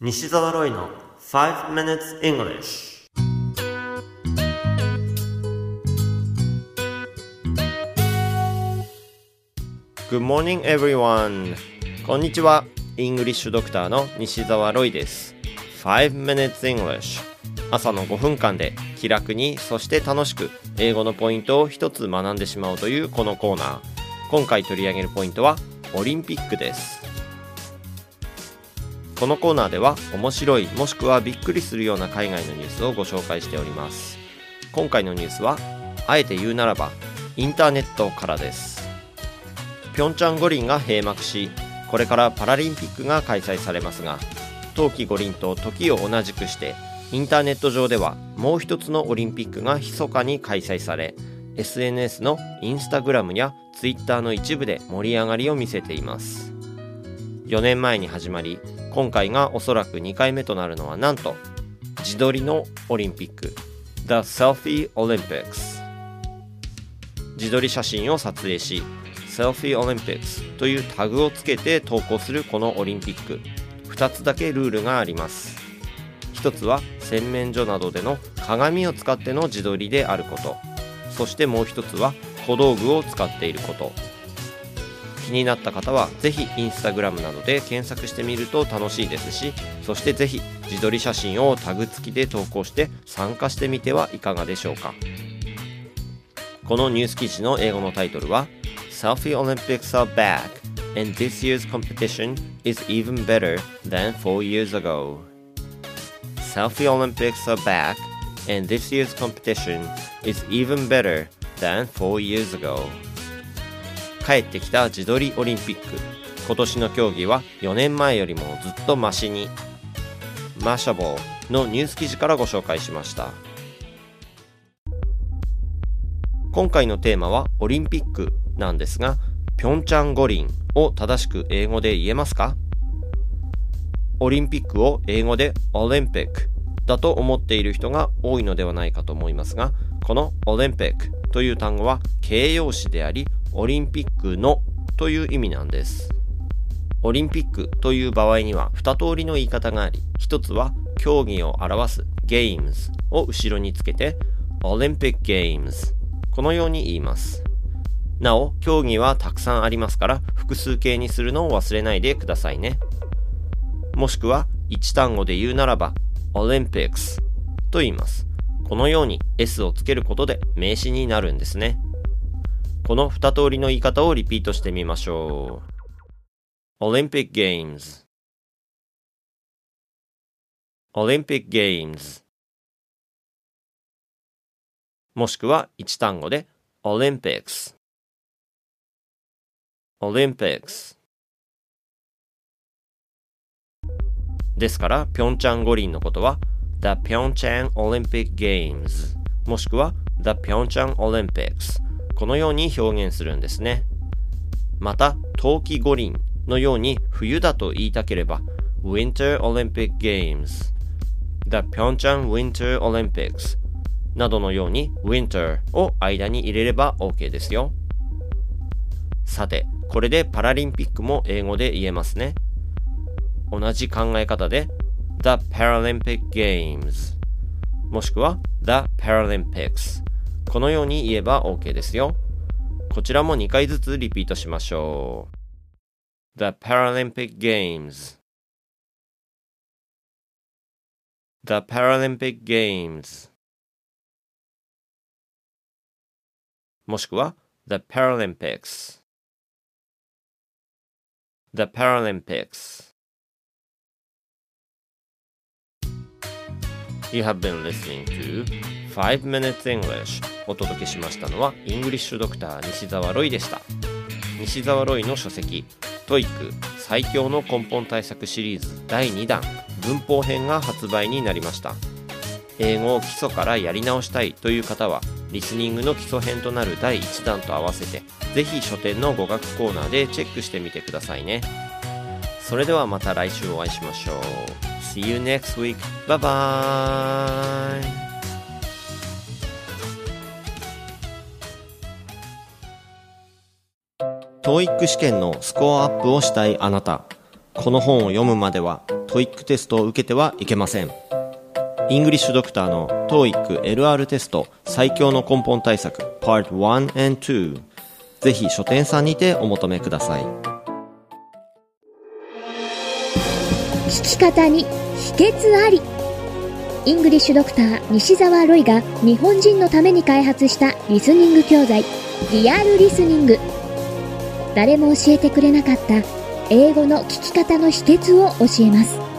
西澤ロイの5 minutes English。 Good morning everyone。 こんにちは。イングリッシュドクターの西澤ロイです。5 minutes English。 朝の5分間で気楽にそして楽しく英語のポイントを一つ学んでしまおうというこのコーナー。今回取り上げるポイントはオリンピックです。このコーナーでは面白いもしくはびっくりするような海外のニュースをご紹介しております。今回のニュースはあえて言うならばインターネットからです。ピョンチャン五輪が閉幕し、これからパラリンピックが開催されますが、冬季五輪と時を同じくしてインターネット上ではもう一つのオリンピックが密かに開催され、 SNS のインスタグラムやツイッターの一部で盛り上がりを見せています。4年前に始まり、今回がおそらく2回目となるのはなんと自撮りのオリンピック The Selfie Olympics。 自撮り写真を撮影し Selfie Olympics というタグをつけて投稿するこのオリンピック、2つだけルールがあります。1つは洗面所などでの鏡を使っての自撮りであること、そしてもう1つは小道具を使っていること。気になった方はぜひインスタグラムなどで検索してみると楽しいですし、そしてぜひ自撮り写真をタグ付きで投稿して参加してみてはいかがでしょうか。このニュース記事の英語のタイトルは Selfie Olympics are back and this year's competition is even better than 4 years ago。 Selfie Olympics are back and this year's competition is even better than 4 years ago。帰ってきた自撮りオリンピック、今年の競技は4年前よりもずっとマシに。マシャボーのニュース記事からご紹介しました。今回のテーマはオリンピックなんですが、ピョンチャン五輪を正しく英語で言えますか？オリンピックを英語でオリンピックだと思っている人が多いのではないかと思いますが、このオリンピックという単語は形容詞であり、オリンピックのという意味なんです。オリンピックという場合には2通りの言い方があり、一つは競技を表す Games を後ろにつけて Olympic Games、 このように言います。なお競技はたくさんありますから複数形にするのを忘れないでくださいね。もしくは一単語で言うならば Olympics と言います。このように S をつけることで名詞になるんですね。この2通りの言い方をリピートしてみましょう。 Olympic Games Olympic Games、 もしくは一単語で Olympics Olympics ですから、ピョンチャン五輪のことは The Pyeongchang Olympic Games もしくは The Pyeongchang Olympics、このように表現するんですね。また冬季五輪のように冬だと言いたければ Winter Olympic Games The Pyeongchang Winter Olympics などのように Winter を間に入れれば OK ですよ。さて、これでパラリンピックも英語で言えますね。同じ考え方で The Paralympic Games もしくは The Paralympics、このように言えば OK ですよ。こちらも2回ずつリピートしましょう。 The Paralympic Games The Paralympic Games もしくは The Paralympics The Paralympics。 You have been listening to 5 minutes English。 お届けしましたのはイングリッシュドクター西澤ロイでした。西澤ロイの書籍 TOEIC 最強の根本対策シリーズ第2弾文法編が発売になりました。英語を基礎からやり直したいという方はリスニングの基礎編となる第1弾と合わせてぜひ書店の語学コーナーでチェックしてみてくださいね。それではまた来週お会いしましょう。 See you next week. Bye bye。TOEIC 試験のスコアアップをしたいあなた、この本を読むまでは TOEIC テストを受けてはいけません。イングリッシュドクターの TOEIC LR テスト最強の根本対策 Part 1 and 2、ぜひ書店さんにてお求めください。 聞き方に秘訣あり。イングリッシュドクター西澤ロイが日本人のために開発したリスニング教材リアルリスニング。誰も教えてくれなかった英語の聞き方の秘訣を教えます。